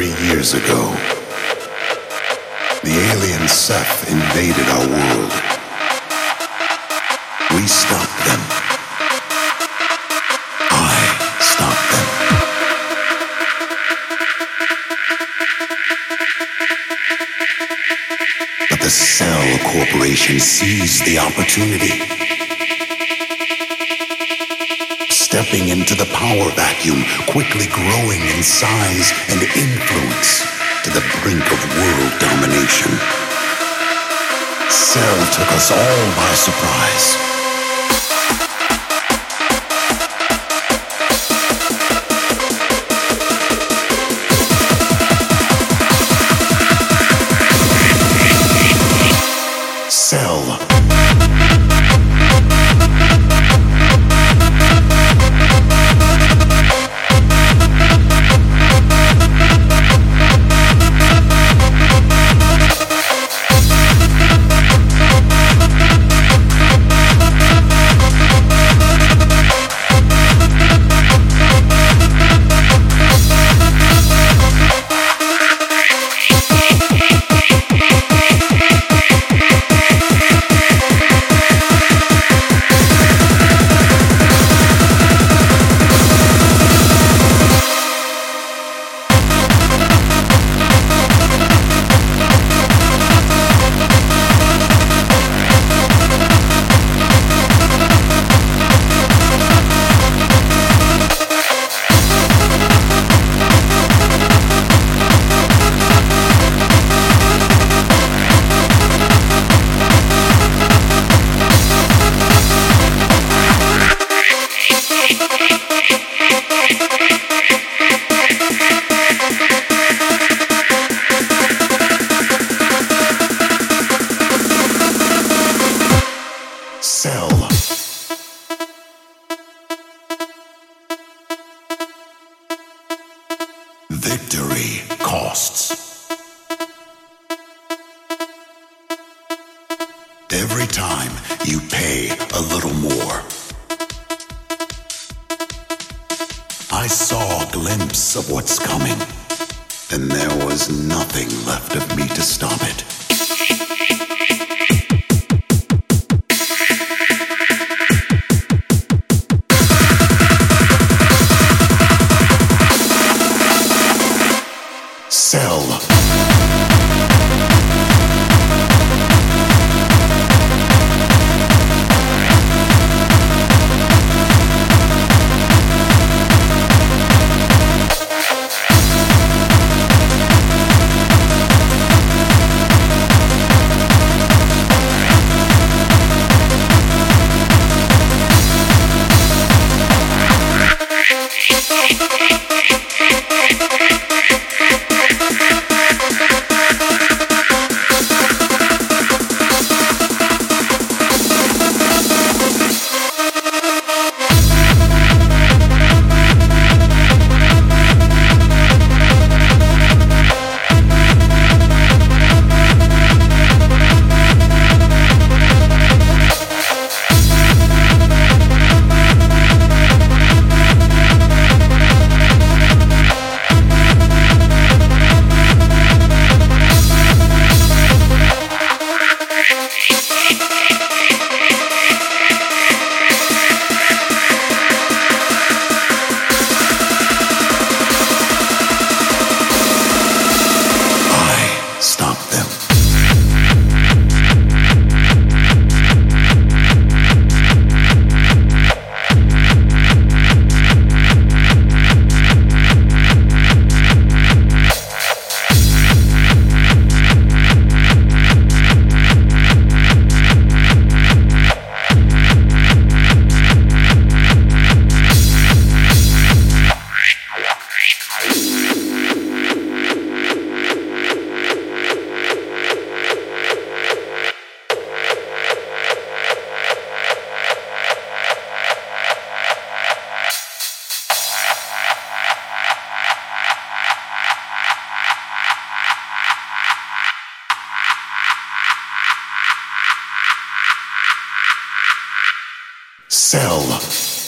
3 years ago, the alien Seth invaded our world. We stopped them. I stopped them. But the Cell Corporation seized the opportunity, stepping into the power vacuum, quickly growing in size and influence to the brink of world domination. Cell took us all by surprise. Cell. Cell. Victory costs. Every time you pay a little more. I saw a glimpse of what's coming, and there was nothing left of me to stop it. Cell. Cell.